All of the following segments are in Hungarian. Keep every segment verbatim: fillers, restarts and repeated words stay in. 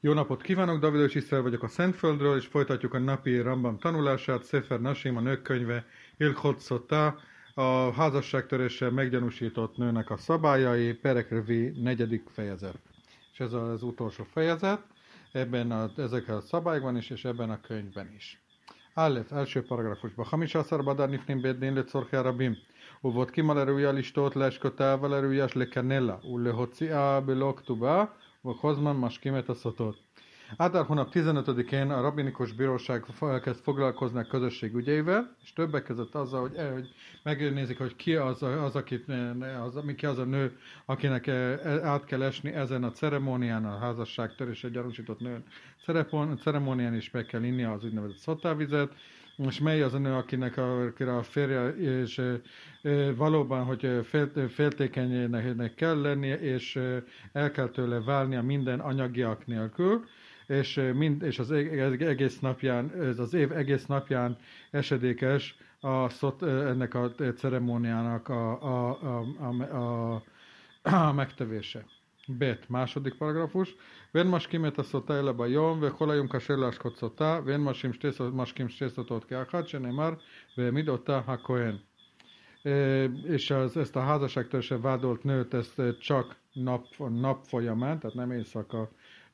Jó napot kívánok, Davidos Iszrael vagyok a Szentföldről, és folytatjuk a napi Rambam tanulását, Szefer Nasim, a nők könyve, Ilchot Szotá, a házasságtöréssel meggyanúsított nőnek a szabályai, Perekrevi negyedik fejezet. És ez az utolsó fejezet, ebben a, ezekkel a szabályokban is, és ebben a könyvben is. Állett, első paragrafusban. Hamisászer badár nifnim bédnén le czorché rabim. Uvot kimalerúja listót leskötál valerújas le kanella, ulle hociá beloktuba, vagy hozman maskimet a szotot. Ádár hónap tizenötödikén a rabinikus bíróság elkezd foglalkozni a közösség ügyeivel, és többek között azzal, hogy, hogy megnézik, hogy ki az, az, akit, az, ki az a nő, akinek át kell esni ezen a ceremónián, a házasságtörésre gyanúsított nő ceremónián is meg kell inni az úgynevezett szotávizet, és mely az a nő, akinek a, akire a férje és e, valóban, hogy fél, féltékenynek kell lennie, és el kell tőle válnia minden anyagiak nélkül, és, mind, és az egész napján, ez az év egész napján esedékes a szot, ennek a ceremóniának a, a, a, a, a, a megtevése. Bet, második paragrafus. Ven maskimet a szotá elebe jom, ve holajum kasérláskot szotá, ven masim maskim stészotot keachat, se nem már, ve midotá ha kohen. És az, ezt a házasságtöréssel vádolt nőt ezt csak nap, nap folyamán, tehát nem éjszaka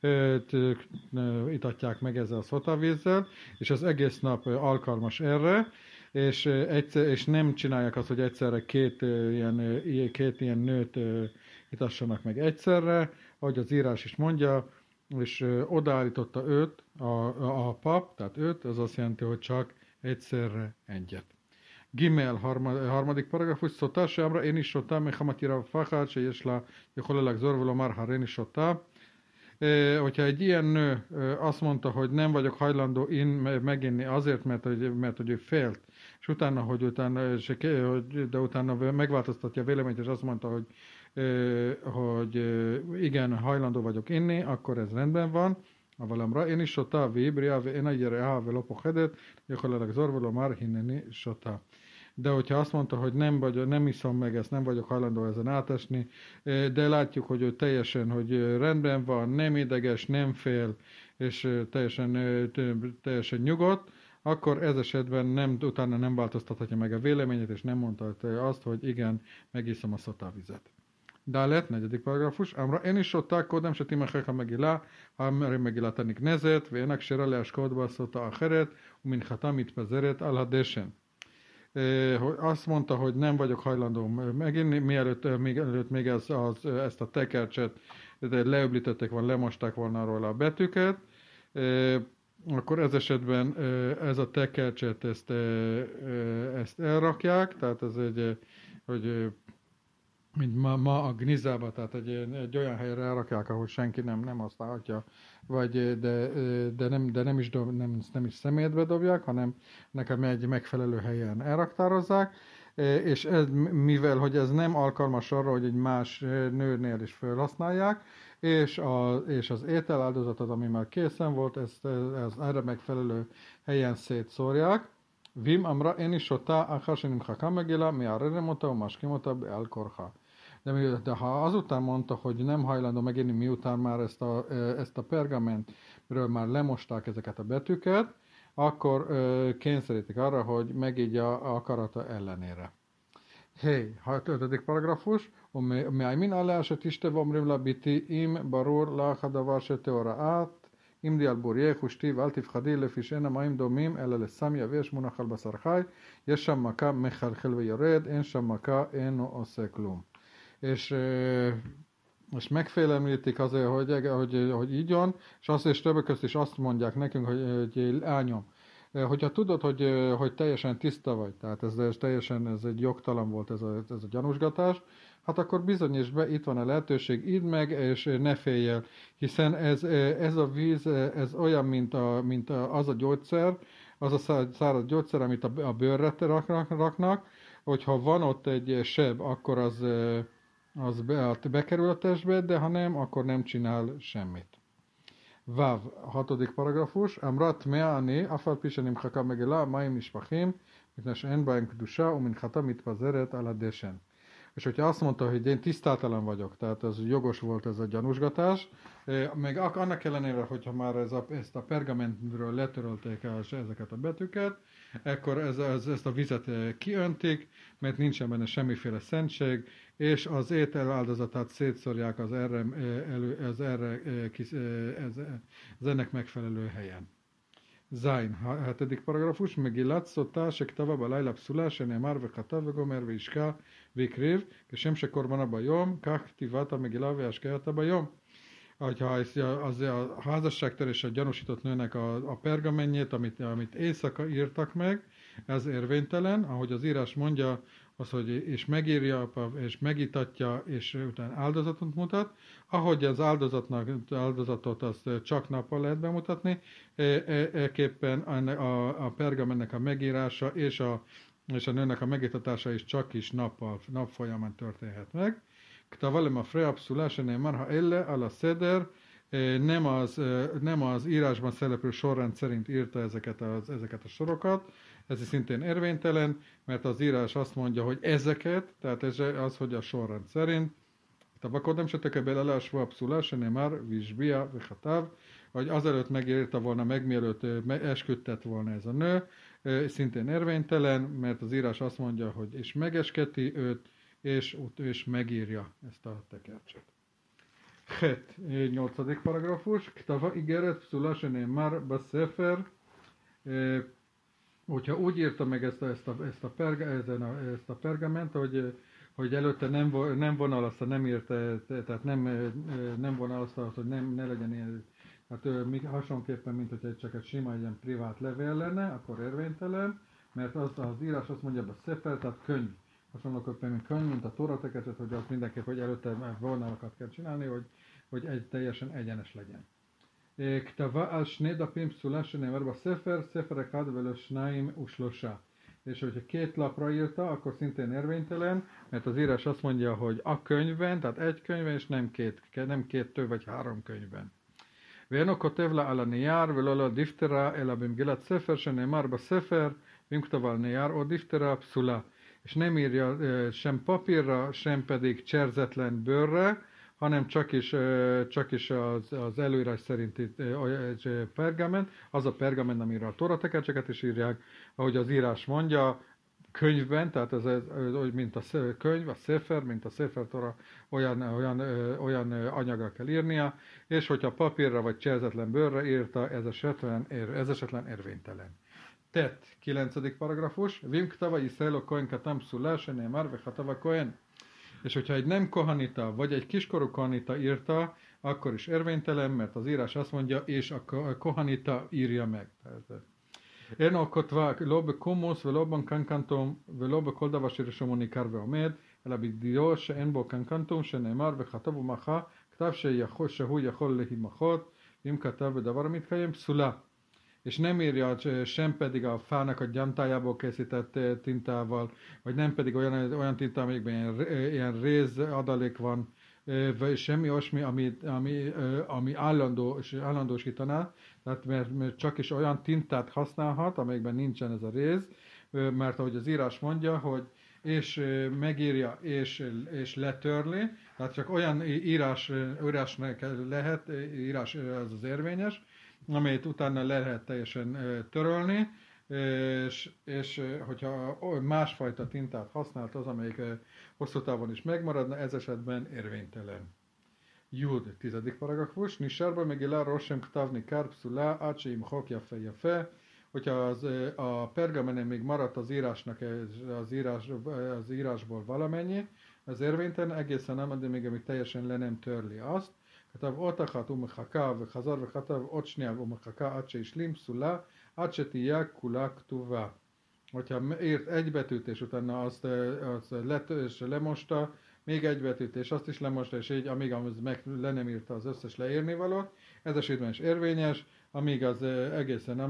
itatják meg ezzel a szotavízzel, és az egész nap alkalmas erre, és, egyszer, és nem csinálják azt, hogy egyszerre két ilyen, két ilyen nőt itassanak meg egyszerre, ahogy az írás is mondja, és odaállította őt a, a, a pap, tehát őt, az azt jelenti, hogy csak egyszerre egyet. Gimel, harmadik paragrafus, szotá seamra én is sotá, mechamatira fachát, se jesla, jeholalag zorvolo már, ha én is sotá. Hogyha egy ilyen nő azt mondta, hogy nem vagyok hajlandó én meginni azért, mert, hogy, mert hogy ő félt, és utána, hogy utána, de utána megváltoztatja a véleményt, és azt mondta, hogy, hogy igen, hajlandó vagyok inni, akkor ez rendben van. Avalamra én is sotá, vibria, én a gyere, ha velopochedet, gyakorlatilag zorvoló már hinneni sotá. De hogyha azt mondta, hogy nem, vagy, nem iszom meg ezt, nem vagyok hajlandó ezen átesni, de látjuk, hogy ő teljesen, hogy rendben van, nem ideges, nem fél, és teljesen, teljesen nyugodt, akkor ez esetben nem, utána nem változtathatja meg a véleményét, és nem mondta azt, hogy igen, megiszom a szotávizet. Dálet, negyedik paragrafus. Amra én is sották kodem, se timechecha megilá, ha megilá tanik nezet, vének se raleás kodba szota a heret, umin hatamit pezeret alhadesen. Azt mondta, hogy nem vagyok hajlandó meginni, mielőtt még, előtt még ez, az, ezt a tekercset leöblítették volna, lemosták volna róla a betűket, akkor ez esetben ez a tekercset ezt, ezt elrakják, tehát ez egy, hogy mint ma, ma a gnizába, tehát egy, egy olyan helyre elrakják, ahol senki nem, nem használhatja, vagy de, de, nem, de nem, is dob, nem, nem is szemétbe dobják, hanem nekem egy megfelelő helyen elraktározzák, és ez, mivel hogy ez nem alkalmas arra, hogy egy más nőnél is felhasználják, és, a, és az ételáldozatot, ami már készen volt, ezt, ezt erre megfelelő helyen szétszórják. Vim amra én is sotá, akársenim hakam megéla, mi arreremota, maskimota, elkorha. De, de ha azután mondta, hogy nem hajlandó meginni, miután már ezt a, ezt a pergamentről már lemosták ezeket a betűket, akkor kényszerítik arra, hogy megígya a akarata ellenére. Hey, ötödik paragrafus. Me'aymin alá se tiste vomrim la biti im barur la hadavar se teoraat im di al burjeh ushtiv al tifchadi lefi she'ena ma'im domim ela lesam yavesh munach al basar chai yesh sham maka mechalchel veyored en sham maka eno ose klum. És, és megfélemlítik azért, hogy, hogy, hogy így van, és azt és többek között is azt mondják nekünk, hogy, hogy lányom, hogyha tudod, hogy, hogy teljesen tiszta vagy, tehát ez, ez teljesen ez egy jogtalan volt ez a, ez a gyanúsgatás, hát akkor bizonyíts be, itt van a lehetőség, idd meg, és ne félj el, hiszen ez, ez a víz, ez olyan, mint, a, mint a, az a gyógyszer, az a száraz gyógyszer, amit a, a bőrre raknak, raknak, hogyha van ott egy seb, akkor az, az be, bekerül a testbe, de ha nem, akkor nem csinál semmit. Vav, hatodik paragrafus. Amrat me'ani, afal pisenim chaka megela, maim nishpachim, mitne she'en ba'em kedusha, uminchata mitpazeret ala deshen. és hogyha azt mondta, hogy én tisztátalan vagyok, tehát ez jogos volt ez a gyanúsgatás, meg annak ellenére, hogyha már ez a, ezt a pergamentről letörölték el ezeket a betűket, akkor ez, ez, ezt a vizet kiöntik, mert nincsen benne semmiféle szentség, és az étel áldozatát szétszórják az erre, elő, az erre ez, ez ennek megfelelő helyen. Zain, hetedik paragrafus, Megillat szotá, sektava balayla pszula, שנאמר וכתב וגומר וישקע והקריב, כשם שקורבנה ביום, כך כתיבת המגילה והשקייתה ביום. Ha az a házasságtörésre gyanúsított nőnek a, a pergamenjét, amit, amit éjszaka írtak meg, ez érvénytelen, ahogy az írás mondja, az, hogy és megírja, és megítatja, és utána áldozatot mutat, ahogy az áldozatnak, áldozatot azt csak nappal lehet bemutatni, ekképpen a, a pergamennek a megírása és a, és a nőnek a megítatása is csak is nappal, nap folyamán történhet meg. כתבה למפרע פסולה שנאמר האלה על הסדר, nem az, nem az írásban szereplő sorrend szerint írta ezeket, az, ezeket a sorokat, ez szintén érvénytelen, mert az írás azt mondja, hogy ezeket, tehát ez az, hogy a sorrend szerint, כתבה קודם שתקבל עליה שבוע פסולה שנאמר והשביע וכתב, hogy azelőtt megírta volna meg, mielőtt esküdtett volna ez a nő, szintén érvénytelen, mert az írás azt mondja, hogy és megesketi őt, és, és megírja ezt a tekercset. Het, nyolcadik paragrafus. Ktava igeret pszula שנאמר בספר, hogyha úgy írta meg ezt a, ezt a, ezt a, perga, ezen a, ezt a pergament, hogy, hogy előtte nem, nem vonalazta, nem írta, tehát nem, nem vonalazta, hogy nem, ne legyen ilyen, hát hasonlóképpen, mint hogy csak egy sima, egy ilyen privát levél lenne, akkor érvénytelen, mert az, az írás azt mondja, a szefer, tehát könyv. Hasonlóképpen, mint könyv, mint a Tóra tekercset, hogy az mindenképp, hogy előtte vonalakat kell csinálni, hogy, hogy egy teljesen egyenes legyen. כתבה על שני דפים פסולה שנאמר בספר, ספר אחד ולא שניים ושלושה. És hogyha két lapra írta, akkor szintén érvénytelen, mert az írás azt mondja, hogy a könyvben, tehát egy könyvben, és nem két, nem két több vagy három könyvben. ואינו כותב לה על הנייר ולא על הדיפטרה, אלא במגילת ספר שנאמר בספר, ואם כתב על נייר או דיפטרה פסולה. És nem írja sem papírra, sem pedig cserzetlen bőrre, hanem csak is, csak is az, az előírás szerinti pergament, az a pergament, amire a Tóra tekercseket is írják, ahogy az írás mondja, könyvben, tehát ez, ez mint a könyv, a szefer, mint a szefer Tóra, olyan, olyan, olyan anyagra kell írnia, és hogyha papírra vagy cserzetlen bőrre írta, ez esetlen, ez esetlen érvénytelen. Tet, kilencedik paragrafus, Vim ktava Yisrael kohen katam pszula, שנאמר וכתב kohen. És hogyha egy nem kohanita, vagy egy kiskorú kohanita írta, akkor is érvénytelen, mert az írás azt mondja, és a kohanita írja meg. אינו כותבה לא בקומוס ולא בקנקנטום ולא בכל דבר שרשום ניכר ועומד, אלא בדיו שאין בו קנקנטום שנאמר וכתב ומחה, כתב שהוא יכול להימחות, אם כתב בדבר המתקיים פסולה. És nem írja sem pedig a fának a gyantájából készített tintával, vagy nem pedig olyan, olyan tinta, amikben ilyen, ilyen réz adalék van, vagy semmi olyasmi, ami, ami, ami állandó, állandósítaná, tehát mert, mert csak is olyan tintát használhat, amelyekben nincsen ez a réz, mert ahogy az írás mondja, hogy és megírja és, és letörli, tehát csak olyan írás, írásnak lehet, írás az az érvényes, amelyet utána le lehet teljesen törölni, és, és hogyha másfajta tintát használt az, amelyik hosszú távon is megmaradna, ez esetben érvénytelen. Jud, tizedik paragrafus, Nisárba megilá rosem ktavni kár pszulá, ácseim hok jafe jafe, hogyha az, a pergamenen még maradt az írásnak az, írás, az írásból valamennyi, az érvénytelen egészen nem, de még amíg teljesen le nem törli azt. כתב אות אחת ומחכה וחזר וכתב עוד שנייה ומחכה עד שהשלים פסולה, עד שתהיה כולה כתובה. Hogyha írt egy betűt, és utána azt, azt let, és lemosta, még egy betűt, és azt is lemosta, és így, amíg az meg le nem írta az összes leírni valót, ez esetben is érvényes, amíg az egészen,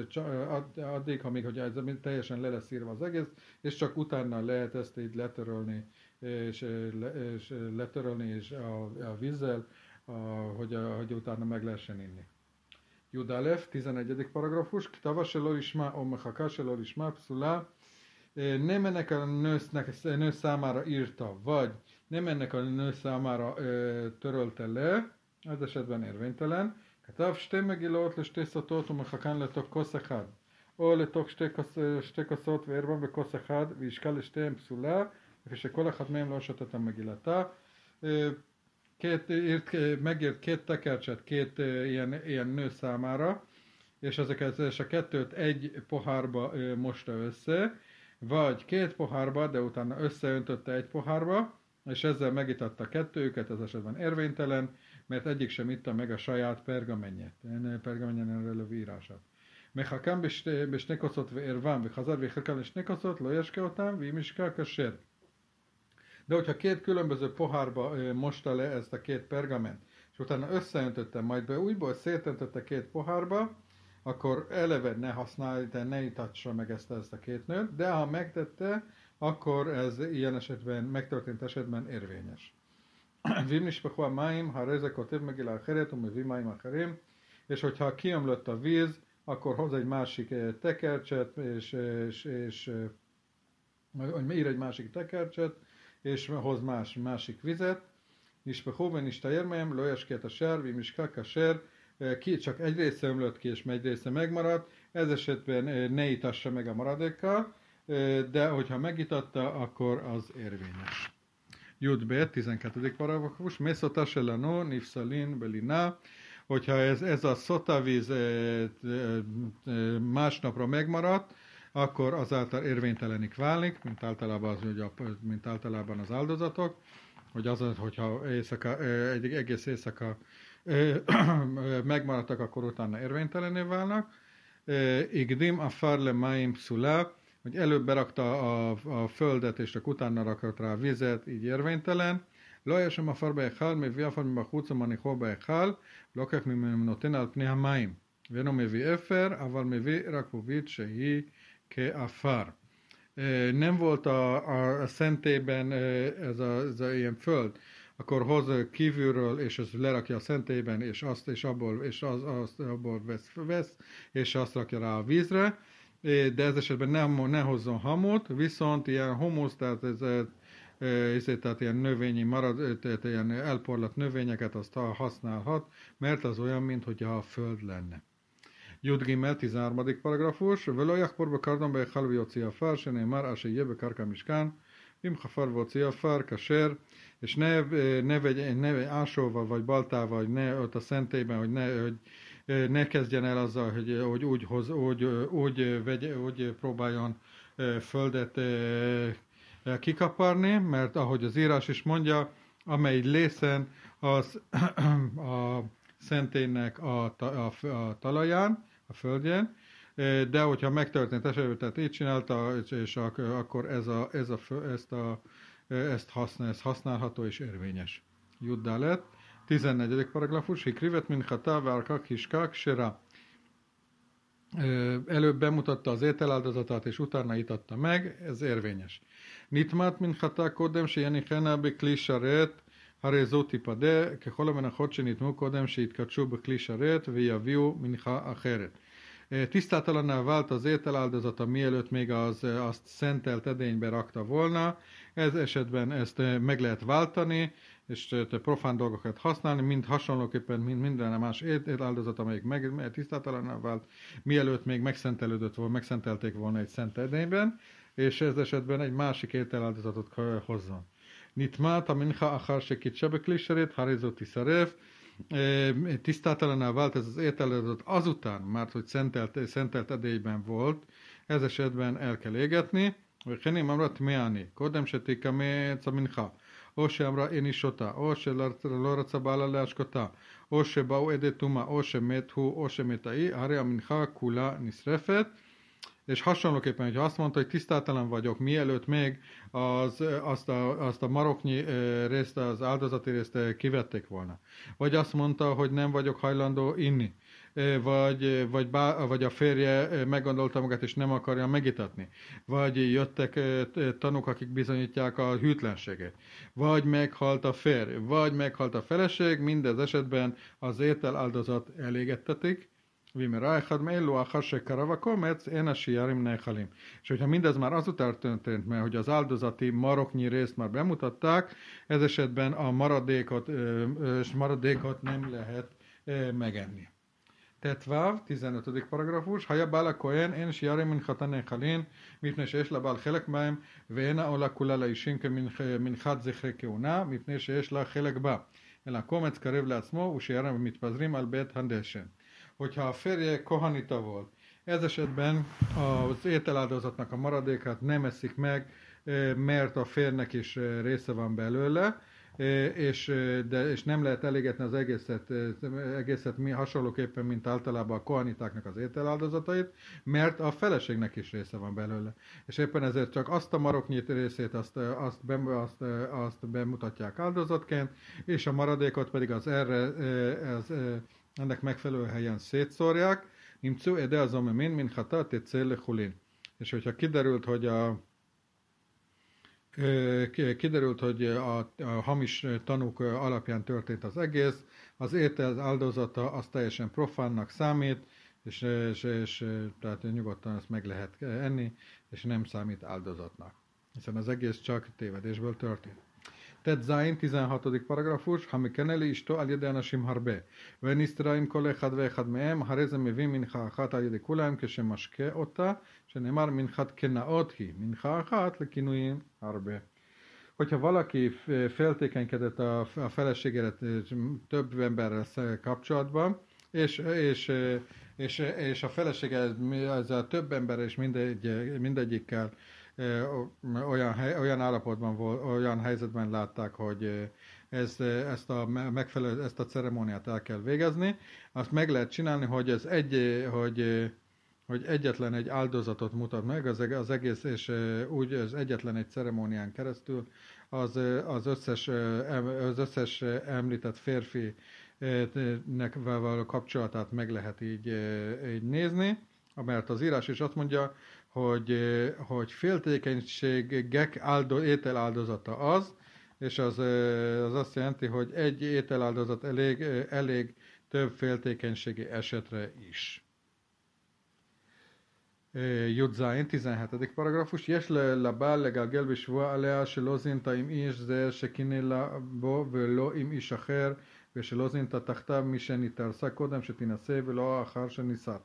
addig, amíg hogy ez teljesen le lesz írva az egész, és csak utána lehet ezt így letörölni, és, és letörölni és a, a vízzel, A, hogy, a, hogy utána meg lehessen inni. Judalef, tizenegyedik paragrafus, Ktava se lo ishma, o mechaka se lo ishma, pszula, nem ennek a nősznek, nő számára írta, vagy nem ennek a nő számára ö, törölte le, az esetben érvénytelen. כתב שתי מגילות לשתי סוטות ומחכן לתוך כוס אחד, או לתוך שתי, כוס, שתי כוסות וערבם בכוס אחד, וישקל לשתיהם פסולה, לפי שכל אחד מהם לא שתת את המגילתה. Két, írt, megírt két tekercset két ilyen, ilyen nő számára, és ezeket és a kettőt egy pohárba mosta össze, vagy két pohárba, de utána összeöntötte egy pohárba, és ezzel megitatta kettőjüket, ez esetben érvénytelen, mert egyik sem itta meg a saját pergamenjét, pergamenjen előlő írását. מחכם בשני כוסות וערבם וחזר ויחלקם לשני כוסות, לא ישקה אותם, ואם ישקע כשר. De hogyha két különböző pohárba mosta le ezt a két pergament, és utána összeöntötte, majd be újból szétöntötte két pohárba, akkor eleve ne használja, ne itatsa meg ezt, ezt a két nőt, de ha megtette, akkor ez ilyen esetben, megtörtént esetben érvényes. Vim nishpachu ha'mayim, ha'arei ze kotev megila acheret, u'mevi mayim acherim, és hogyha kiömlött a víz, akkor hoz egy másik tekercset, és, és, és ír egy másik tekercset, és hoz más, másik vizet, nishpachu v'nishtayer mehem, lo yashke kasher, v'im yishka kasher, ki csak egy része ömlött ki, és egy része megmaradt, ez esetben ne itassa meg a maradékkal, de hogyha megitatta, akkor az érvényes. Jud B, tizenkettedik paragrafus, Mészota selano, nifszalin, belina, hogyha ez, ez a szotavíz másnapra megmaradt, akkor azáltal érvénytelenik válik, mint általában az, mint általában az áldozatok, hogy az, hogyha éjszaka, egy egész éjszaka megmaradtak, akkor utána érvénytelené válnak. Igdim afar le maim pszula, hogy előbb berakta a, a földet, és csak utána rakott rá vizet, így érvénytelen. לא היה שם עפר בהיכל, מביא עפר מבחוץ ומניחו בהיכל, לוקח ממנו נותן על פני המים. ואינו מביא אפר, אבל מביא רק בובית שהיא כעפר. Nem volt a, a, a szentélyben ez a, ez a ilyen föld, akkor hoz kívülről, és az lerakja a szentélyben, és azt, és abból, és az, azt, abból vesz, vesz, és azt rakja rá a vízre, de ez esetben nem, ne hozzon hamut, viszont ilyen humusz, tehát ez, ez, tehát ilyen növényi marad, tehát ilyen elporlat növényeket azt használhat, mert az olyan, mint hogyha a föld lenne. Jud Gimel, tizenharmadik paragrafus, Velo jachpor bekardon beichal v'yotzi afar, שנאמר אשר יהיה בקרקע משכן, אם חפר והוציא עפר, כשר, és ne, ne vegy, ne vegy ásóval vagy baltával, hogy ne ott a szentélyben, hogy ne, hogy ne kezdjen el azzal, hogy, hogy úgy, hoz, úgy, úgy, vegy, úgy próbáljon földet kikaparni, mert ahogy az írás is mondja, amely lészen az a szentélynek a, a, a talaján, a földjén, de hogyha megtörtént esetben, tehát így csinálta, és akkor ez a, ez a, ezt, a, ezt használ, ez használható és érvényes. Juddá lett. tizennegyedik paragrafus, Hikrivet min chata várkak hiskak sera. Előbb bemutatta az ételáldozatát, és utána itatta meg, ez érvényes. Nitmat min chata kodem se jenichena bekli sharet, הרי זו תיפדה ככל המנחות שניתנו קודם שהתקדשו בכלי שרת ויביאו מנחה אחרת. Tisztátalanná vált az ételáldozata, mielőtt még az, azt szentelt edénybe rakta volna. Ez esetben ezt meg lehet váltani, és profán dolgokat használni, mind hasonlóképpen, mint minden más ételáldozat, amelyik meg, tisztátalanná vált, mielőtt még megszentelődött volna, megszentelték volna egy szent edényben, és ez esetben egy másik ételáldozatot hozzon. Nitmát a mincha achar sekitse bekli sharet, הרי זו תישרף. Tisztátalanná vált ez az ételáldozat azután, mert hogy szentelt, szentelt edélyben volt, ez esetben el kell égetni. וכן אמרה טמאני, קודם שתקמץ המנחה, או שאמרה אין אישותה, או שלא רצה בעלה להשקותה, או שבאו עדי טומאה, או שמת הוא, או שמת ההיא, הרי המנחה כולה נשרפת. És hasonlóképpen, hogyha azt mondta, hogy tisztátalan vagyok, mielőtt még az, azt, a, azt a maroknyi részt, az áldozati részt kivették volna. Vagy azt mondta, hogy nem vagyok hajlandó inni. Vagy, vagy, bá, vagy a férje meggondolta magát, és nem akarja megitatni. Vagy jöttek tanúk, akik bizonyítják a hűtlenségét. Vagy meghalt a férj, vagy meghalt a feleség, mindez esetben az étel áldozat elégettetik, Vimera echad meillu achar shekarava komec, én a siarim nechalim. És hogyha mindez már azután történt, mert hogy az áldozati maroknyi részt már bemutatták, ez esetben a maradékot, és maradékot nem lehet megenni. Tetvav, tizenötödik paragrafus, Haja bála kohen, én siarim minchata nechalin, mipne שיש לה בעל חלק בהם, ואינה עולה כולה לאישים כמנחת זכרי כהונה, מפני שיש לה חלק בה. אלא קומץ קרב לעצמו, ושירם מתפזרים על בית הדשן. Hogyha a férje kohanita volt, ez esetben az ételáldozatnak a maradékát nem eszik meg, mert a férnek is része van belőle, és, de, és nem lehet elégetni az egészet, egészet mi, hasonlóképpen, mint általában a kohanitáknak az ételáldozatait, mert a feleségnek is része van belőle. És éppen ezért csak azt a maroknyi részét azt, azt, be, azt, azt bemutatják áldozatként, és a maradékot pedig az erre, az, ennek megfelelő helyen szétszórják, nimcu ede az omemin, min hata tetszél lechulin. És hogyha kiderült, hogy a kiderült, hogy a, a hamis tanúk alapján történt az egész, az étel áldozata az teljesen profánnak számít, és, és, és tehát nyugodtan ezt meg lehet enni, és nem számít áldozatnak. Hiszen az egész csak tévedésből történt. Tet Zain, tizenhatodik paragrafus, Hamikeneli isto al yede anashim harbe, venisztraim kol echad veechad mehem, hareze mevim mincha achat al yede kulaim keshemashke ota, shenemar minchat kenaot hi, mincha achat lekinuim harbe. Hogyha valaki féltékenykedett a, a feleségére több emberrel kapcsolatban, és, és, és, és a felesége ezzel több emberrel és mindegy, mindegyikkel olyan, olyan állapotban volt, olyan helyzetben látták, hogy ez, ezt, a megfelelő, ezt a ceremóniát el kell végezni, azt meg lehet csinálni, hogy ez egy, hogy, hogy egyetlen egy áldozatot mutat meg, az, az egész, és úgy az egyetlen egy ceremónián keresztül az, az, összes, az összes említett férfinek való kapcsolatát meg lehet így, így nézni, mert az írás is azt mondja, hogy, hogy féltékenységek áldo, ételáldozata az, és az, az azt jelenti, hogy egy ételáldozat elég, elég több féltékenységi esetre is. Judzain, tizenhetedik paragrafus. Yes לבעל לגלגל בשבועה עליה שלא זינתה עם איש זה שקינא לה בו ולא עם איש אחר ושלא זינתה תחתיו מי שנתארסה קודם שתינשא ולא אחר שנישאת.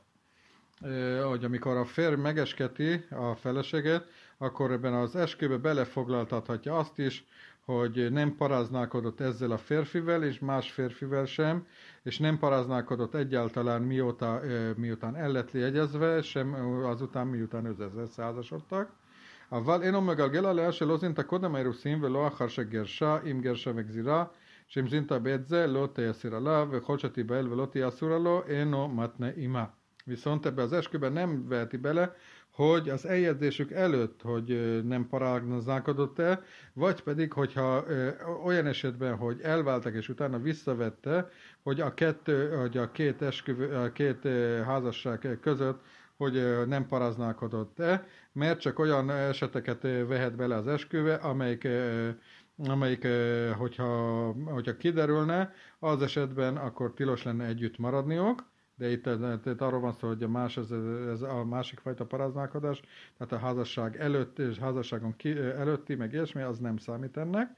Hogy amikor a férj megesketi a feleséget, akkor ebben az eskübe belefoglaltathatja azt is, hogy nem paráználkodott ezzel a férfivel, és más férfivel sem, és nem paráználkodott egyáltalán mióta, miután el lett jegyezve, sem azután, miután összeházasodtak. אבל אינו מגלגל עליה שלא זינתה קודם האירוסין ולא אחר שגרשה, אם גרשה וגזירה, שאם זינתה בעת זה לא תיאסר עליו, וכל שתיבהל ולא תהיה אסורה לו, אינו מתנה עמה. Viszont ebbe az esküben nem veheti bele, hogy az eljegyzésük előtt, hogy nem paráználkodott-e, vagy pedig, hogyha olyan esetben, hogy elváltak és utána visszavette, hogy a, kettő, hogy a két, esküvő, a két házasság között, hogy nem paráználkodott-e, mert csak olyan eseteket vehet bele az esküve, amelyik, amelyik hogyha, hogyha kiderülne, az esetben akkor tilos lenne együtt maradniuk. De itt, itt arról van szó, hogy a, más, ez, ez a másik fajta paráználkodás, tehát a házasság előtt és házasságon ki, előtti, meg ilyesmi, az nem számít ennek.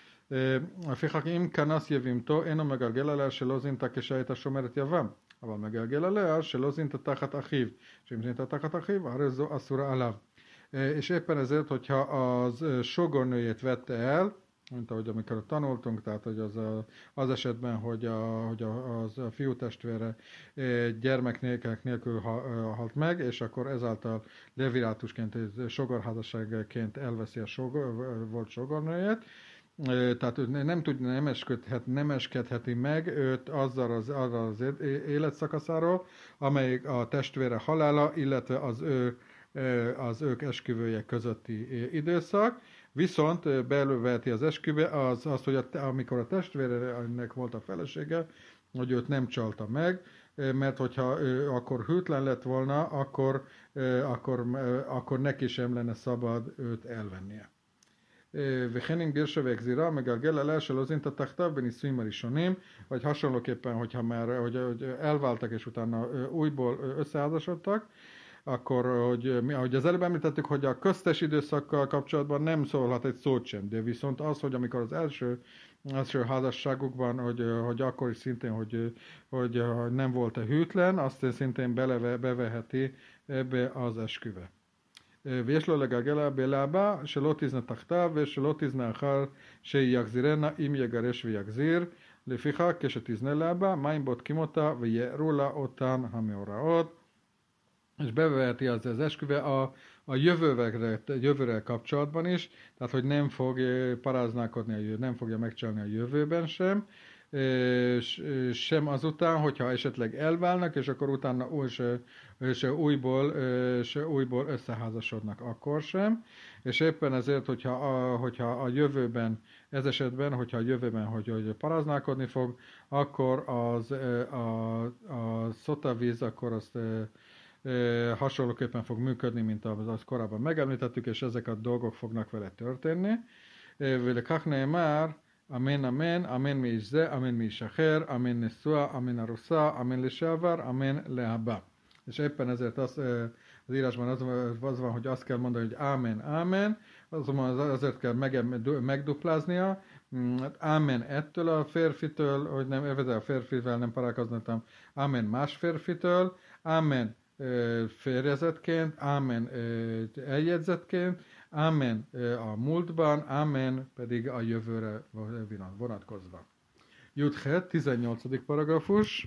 לפיכך אם כנס יבימתו אינו מגלגל עליה שלא זינתה כשהייתה שומרת יבם, אבל מגלגל עליה שלא זינתה תחת אחיו, שאם זינתה תחת אחיו, הרי זו אסורה עליו. És éppen ezért, hogyha az sógornőjét vette el, mint ahogy amikor tanultunk, tehát hogy az, a, az esetben, hogy a, hogy a, az a fiú testvére gyermek nélkül, nélkül halt meg, és akkor ezáltal levirátusként, sogorházasságként elveszi a sogor, volt sogornőjét, tehát ő nem tud, nem, eskedhet, nem eskedheti meg őt azzal az, azzal az életszakaszáról, amelyik a testvére halála, illetve az ő az ők esküvője közötti időszak, viszont belőveheti az esküve az, az, hogy a, amikor a testvérenek volt a felesége, hogy őt nem csalta meg, mert hogyha ő akkor hűtlen lett volna, akkor, akkor, akkor neki sem lenne szabad őt elvennie. Vechenin Gérsevek Zira, meg a Gellel első lozinta taktav, Beniszvim Marisonim, vagy hasonlóképpen, hogyha már hogy, hogy elváltak és utána újból összeházasodtak, akkor, hogy, ahogy az előbb említettük, hogy a köztes időszakkal kapcsolatban nem szólhat egy szót sem, de viszont az, hogy amikor az első, első házasságukban, hogy, hogy akkor is szintén, hogy, hogy, hogy nem volt-e hűtlen, azt szintén beleve, beveheti ebbe az esküve. ויש לו לגלגל בלהבה שלא תזנה תחתיו ושלא תזנה אחר שיחזירנה אם יגרש ויחזיר. לפיכך כשתזנה להבה מים בודקים אותה ויערו לה אותן המאורעות. És beveheti az, az esküve a, a jövőre, jövőre kapcsolatban is, tehát hogy nem fog paráználkodni, nem fogja megcsalni a jövőben sem, és sem azután, hogyha esetleg elválnak, és akkor utána és, és újból, és újból összeházasodnak, akkor sem. És éppen ezért, hogyha a, hogyha a jövőben, ez esetben, hogyha a jövőben, hogy, hogy paráználkodni fog, akkor az, a, a szotavíz, akkor azt E, hasonlóképpen fog működni, mint az korábban megemlítettük, és ezek a dolgok fognak vele történni. ולכך נאמר, אמן אמן, אמן מאיש זה, אמן מאיש אחר, אמן נשוא, אמן ארוסה, אמן לשעבר, אמן להבא. És éppen ezért az, az írásban az, az van, hogy azt kell mondani, hogy ámen, ámen, azonban azért kell meg, megdupláznia, ámen ettől a férfitől, hogy nem ezzel a férfivel nem parálkoznottam, ámen más férfitől, ámen férjezetként, ámen eljegyzetként, ámen a múltban, ámen pedig a jövőre vonatkozva. Juthet, tizennyolcadik paragrafus.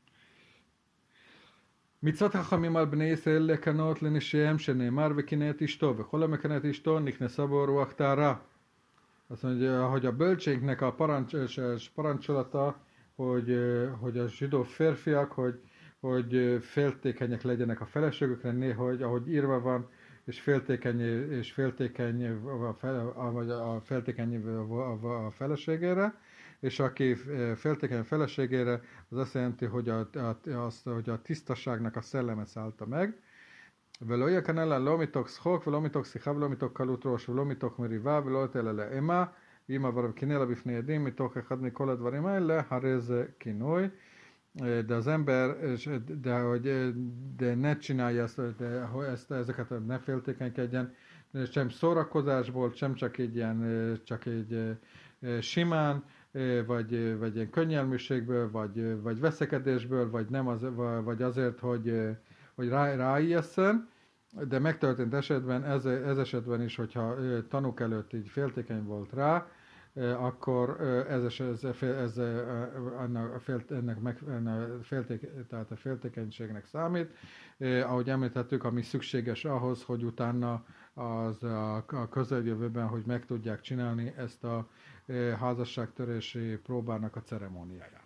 מצוות חכמים על בני ישראל לקנות לנשיהם שנאמר וקינא את אשתו וכל המקנא את אשתו נכנסה בו רוח טהרה. Azt mondja, hogy a bölcsénknek a parancs, parancsolata, hogy, hogy a zsidó férfiak, hogy hogy féltékenyek legyenek a feleségükre, néhogy, ahogy írva van, és féltékeny, és féltékeny a, fel, a, a féltékeny a feleségére, és aki féltékeny a feleségére, az azt jelenti, hogy a, a, azt, hogy a tisztaságnak a szelleme szállta meg. ולא יקנא לא מתוך שחוק ולא מתוך שיחה ולא מתוך קלות ראש ולא מתוך מריבה ולא יתן אלא לאמה ואם עבר וקינא לה בפני עדים מתוך אחד מכל הדברים האלה, הרי זה כינוי. De az ember, de, hogy, de ne csinálja ezt, de, ezt, ezeket, ne féltékenykedjen, sem szórakozásból, sem csak egy ilyen, csak egy simán, vagy, vagy ilyen könnyelműségből, vagy, vagy veszekedésből, vagy, nem az, vagy azért, hogy, hogy rá, ráijesszen, de megtörtént esetben, ez, ez esetben is, hogyha tanúk előtt így féltékeny volt rá, akkor ez, ez, ez ennek, a fél, ennek meg, ennek félték, tehát a féltékenységnek számít. Eh, ahogy említettük, ami szükséges ahhoz, hogy utána az a, a közeljövőben, hogy meg tudják csinálni ezt a eh, házasságtörési próbának a ceremóniáját.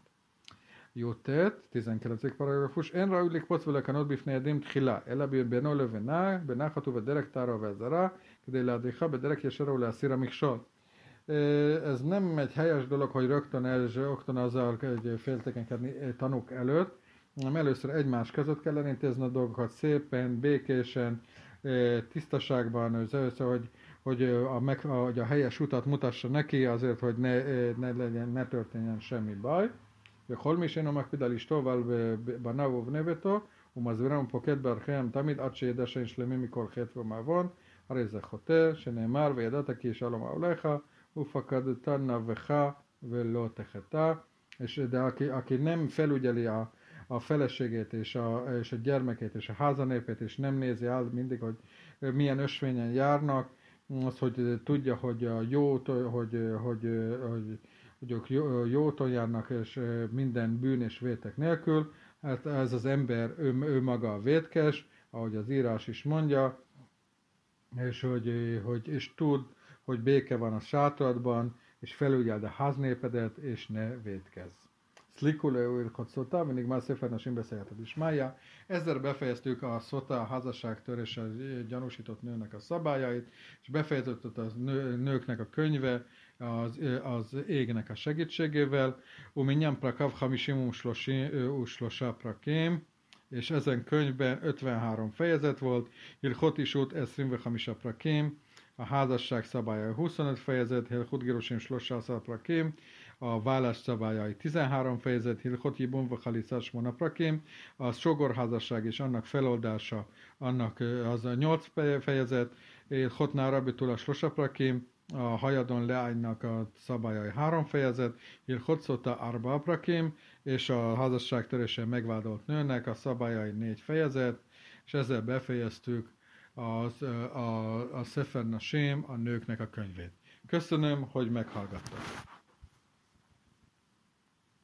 Jutet, tizenkilencedik paragrafus. En raúlik pocvelekanot bifnei edim tchila, ela beno levena, benachatu vederek tára vezara, kedé leadéha bederek yesera leasszira miksol. Ez nem egy helyes dolog, hogy rögtön, el, rögtön azzal féltékenykedni tanúk előtt, hanem először egymás között kell elintézni a dolgokat szépen, békésen, tisztaságban, hogy, hogy, a, meg, hogy a helyes utat mutassa neki, azért, hogy ne, ne, legyen, ne történjen semmi baj. וכל מי שאינו מקפיד על אשתו ועל בניו ובני ביתו, ומזהירם ופוקד בערכיהם תמיד עד שידע שאין שלמים מכל חטא ומעוון, הרי זה חוטא, שנאמר וידעת כי שלום אהליך, ופקדת נבך ולא תחטא. És de aki, aki nem felügyeli a, a feleségét és a, és a gyermekét és a házanépét, és nem nézi át mindig, hogy milyen ösvényen járnak, az, hogy tudja, hogy a jót, hogy, hogy, hogy, hogy hogy ők jóton járnak, és minden bűn és vétek nélkül. Hát ez az ember, ő, ő maga a vétkes, ahogy az írás is mondja, és, hogy, hogy, és tud, hogy béke van a sátradban, és felügyeld a háznépedet, és ne vétkezz. Szlikule újrkot szota, mindig már Szefer Nasim beszélheted is mája. Ezzel befejeztük a szota, a házasságtöréssel gyanúsított nőnek a szabályait, és befejeződött a nő, nőknek a könyve, az, az égnek a segítségével. Uminyan prakav hamisim uslosá prakim, és ezen könyvben ötvenhárom fejezet volt. Hilchot is út eszrim ve hamisa prakim, a házasság szabályai huszonöt fejezet, Hilchot Girushim Shlosa Asar Prakim, a vállás szabályai tizenhárom fejezet, Hilchot Yibum Vachalitza Shmona Prakim, a sogorházasság és annak feloldása, annak az a nyolc fejezet, Hilchot Nara Betula Shlosa Prakim, a hajadon leánynak a szabályai három fejezet, Hilchot Sota Arba Prakim, és a házasságtörésen megvádolt nőnek a szabályai négy fejezet, és ezzel befejeztük az, a, a Sefer Nashim, a nőknek a könyvét. Köszönöm, hogy meghallgattak.